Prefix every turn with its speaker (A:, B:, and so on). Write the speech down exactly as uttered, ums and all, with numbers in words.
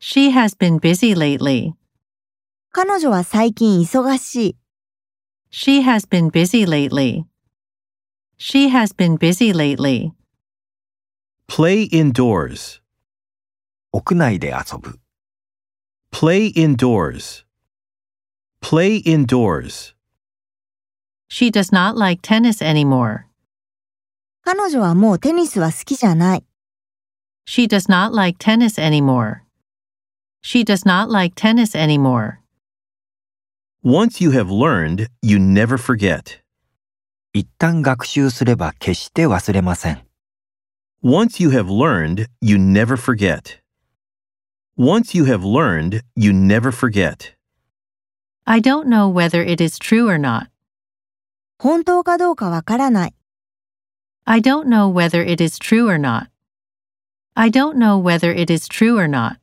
A: She has been busy lately.
B: 彼女は最近忙しい。
A: She has been busy lately. She has been busy lately.
C: Play indoors.
D: 屋内で遊ぶ。
C: Play indoors. Play indoors.
A: She does not like tennis anymore.
B: 彼女はもうテニスは好きじゃない。
A: She does not like tennis anymore. She does not like tennis anymore.
C: Once you have learned, you never forget.
D: 一旦学習すれば決して忘れません。
C: Once you have learned, you never forget. Once you have learned, you never forget.
A: I don't know whether it is true or not.
B: 本当かどうかわからない。
A: I don't know whether it is true or not. I don't know whether it is true or not.